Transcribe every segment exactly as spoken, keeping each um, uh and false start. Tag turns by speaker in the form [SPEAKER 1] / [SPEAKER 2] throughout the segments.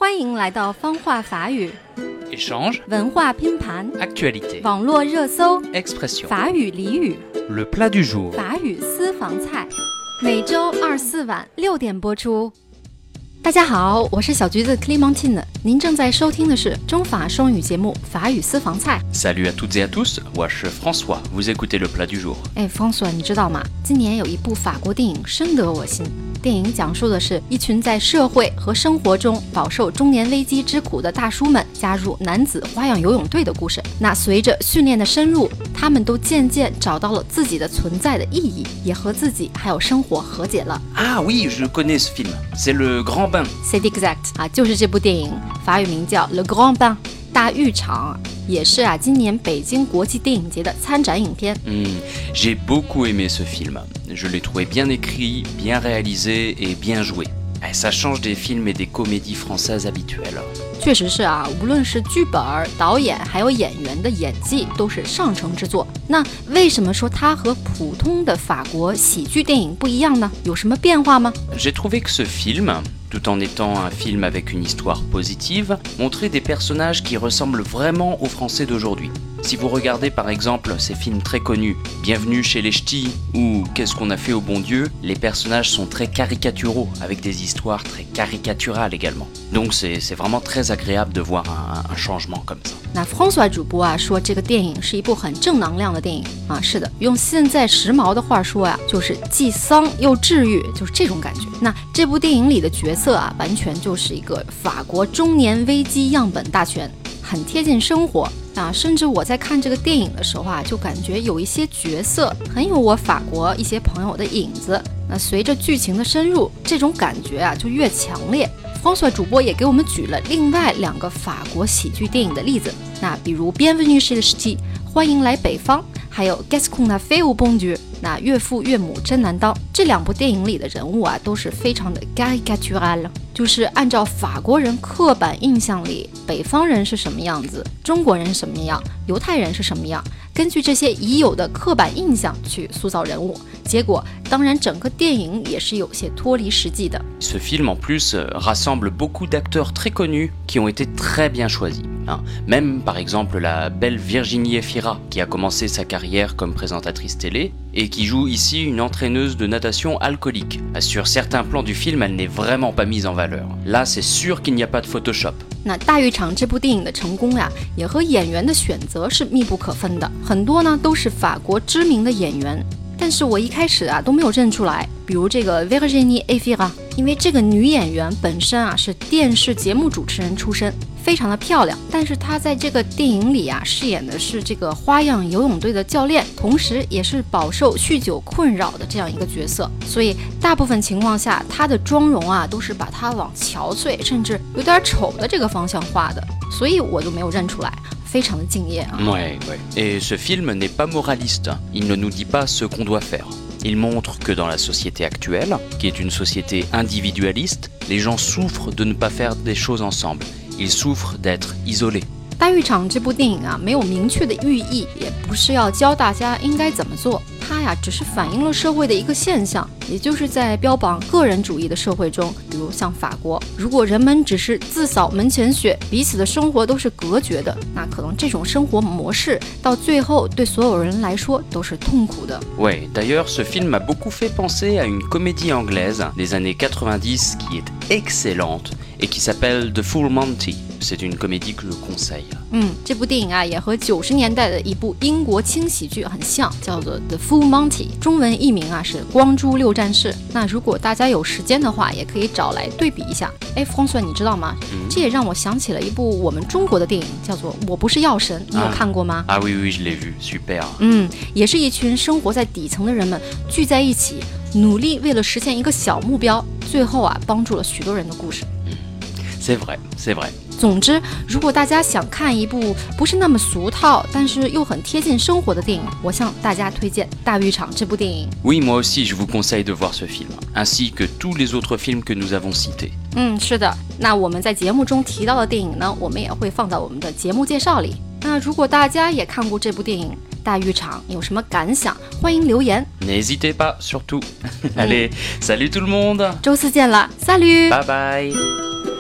[SPEAKER 1] 欢迎来到方话法语
[SPEAKER 2] Échange
[SPEAKER 1] 文化拼盘
[SPEAKER 2] Actualité
[SPEAKER 1] 网络热搜
[SPEAKER 2] Expression
[SPEAKER 1] 法语俚语
[SPEAKER 2] Le plat du jour
[SPEAKER 1] 法语私房菜，每周二四晚六点播出。大家好，我是小橘子 Clémentine， 您正在收听的是中法双语节目法语私房菜。
[SPEAKER 2] Salut à toutes et à tous, moi je suis François, vous écoutez le plat du jour.
[SPEAKER 1] 哎 François， 你知道吗？今年有一部法国电影深得我心。电影讲述的是一群在社会和生活中饱受中年危机之苦的大叔们加入男子花样游泳队的故事。那随着训练的深入，他们都渐渐找到了自己的存在的意义，也和自己还有生活和解了。
[SPEAKER 2] Ah oui, je connais ce film, c'est Le Grand Bain.
[SPEAKER 1] C'est exact 啊，就是这部电影，法语名叫 Le Grand Bain 大浴场，也是啊今年北京国际电影节的参展影片。
[SPEAKER 2] Mm, j'ai beaucoup aimé ce film, je l'ai trouvé bien écrit, bien réalisé et bien joué. Eh, ça change des films et des comédies françaises habituelles.
[SPEAKER 1] 确实是啊，无论是剧本、导演还有演员的演技都是上乘之作。那为什么说它和普通的法国喜剧电影不一样呢？有什么变化吗？
[SPEAKER 2] J'ai trouvé que ce film, tout en étant un film avec une histoire positive, montrait des personnages qui ressemblent vraiment aux Français d'aujourd'hui. Si vous regardez par exemple ces films très connus, Bienvenue chez les Ch'tis ou Qu'est-ce qu'on a fait au bon Dieu, les personnages sont très caricaturaux, avec des histoires très caricaturales également. Donc c'est, c'est vraiment très agréable de voir un, un changement comme ça.
[SPEAKER 1] 那 François 主播啊说这个电影是一部很正能量的电影啊，是的，用现在时髦的话说呀、啊，就是既丧又治愈，就是这种感觉。那这部电影里的角色啊，完全就是一个法国中年危机样本大全，很贴近生活啊。甚至我在看这个电影的时候啊，就感觉有一些角色很有我法国一些朋友的影子。那随着剧情的深入，这种感觉啊就越强烈。François 主播也给我们举了另外两个法国喜剧电影的例子，那比如 Bienvenue chez les Ch'tis 欢迎来北方，还有 Qu'est-ce qu'on a fait au bon Dieu 那岳父岳母真难当。这两部电影里的人物啊都是非常的 caricatural， 就是按照法国人刻板印象里北方人是什么样子，中国人什么样，犹太人是什么样，根据这些已有的刻板印象去塑造人物，结果当然整个电影也是有些脱离实际的。
[SPEAKER 2] Ce film en plus euh, rassemble beaucoup d'acteurs très connus qui ont été très bien choisis. Hein. Même par exemple la belle Virginie Efira qui a commencé sa carrière comme présentatrice télé et qui joue ici une entraîneuse de natation alcoolique. Sur certains plans du film, elle n'est vraiment pas mise en valeur. Là, c'est sûr qu'il n'y a pas de Photoshop.
[SPEAKER 1] 那大浴场这部电影的成功呀，也和演员的选择是密不可分的，很多呢都是法国知名的演员，但是我一开始啊都没有认出来，比如这个 Virginie Efira， 因为这个女演员本身啊是电视节目主持人出身，非常的漂亮，但是她在这个电影里啊饰演的是这个花样游泳队的教练，同时也是饱受酗酒困扰的这样一个角色，所以大部分情况下她的妆容啊都是把她往憔悴甚至有点丑的这个方向画的，所以我就没有认出来，非常的敬业啊。
[SPEAKER 2] Ouais, ouais. Et ce film n'est pas moraliste, il ne nous dit pas ce qu'on doit faire. Il montre que dans la société actuelle, qui est une société individualiste, les gens souffrent de ne pas faire des choses ensemble. Ils souffrent d'être isolés.
[SPEAKER 1] 大浴场这部电影啊，没有明确的寓意，也不是要教大家应该怎么做，它呀只是反映了社会的一个现象，也就是在标榜个人主义的社会中，比如像法国，如果人们只是自扫门前雪，彼此的生活都是隔绝的，那可能这种生活模式到最后对所有人来说都是痛苦的。
[SPEAKER 2] Ouais, d'ailleurs, ce film m'a beaucoup fait penser à une comédie anglaise des années quatre-vingt-dix qui est excellente et qui s'appelle The Full Monty. C'est une comédie que je conseille.
[SPEAKER 1] 嗯，这部电影啊也和九十年代的一部英国轻喜剧很像，叫做 The Full Monty， 中文译名啊是光珠六战士。那如果大家有时间的话，也可以找来对比一下。哎，François，你知道吗？嗯、这也让我想起了一部我们中国的电影，叫做《我不是药神》，你有看过吗？
[SPEAKER 2] Ah, ah oui, oui, je l'ai vu, super.
[SPEAKER 1] 嗯，也是一群生活在底层的人们聚在一起，努力为了实现一个小目标，最后啊帮助了许多人的故事。
[SPEAKER 2] C'est vrai, c'est vrai.
[SPEAKER 1] 总之，如果大家想看一部不是那么俗套，但是又很贴近生活的电影，我向大家推荐《大浴场》这部电影。
[SPEAKER 2] Oui, moi aussi, je vous conseille de voir ce film, ainsi que tous les autres films que nous avons cités.
[SPEAKER 1] 嗯，是的。那我们在节目中提到的电影呢，我们也会放在我们的节目介绍里。那如果大家也看过这部电影《大浴场》，有什么感想，欢迎留言。
[SPEAKER 2] N'hésitez pas, surtout. Allez, salut tout le monde.
[SPEAKER 1] 周四见了 ，Salut。
[SPEAKER 2] Bye bye.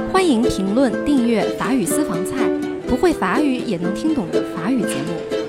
[SPEAKER 1] 欢迎评论、订阅法语私房菜，不会法语也能听懂的法语节目。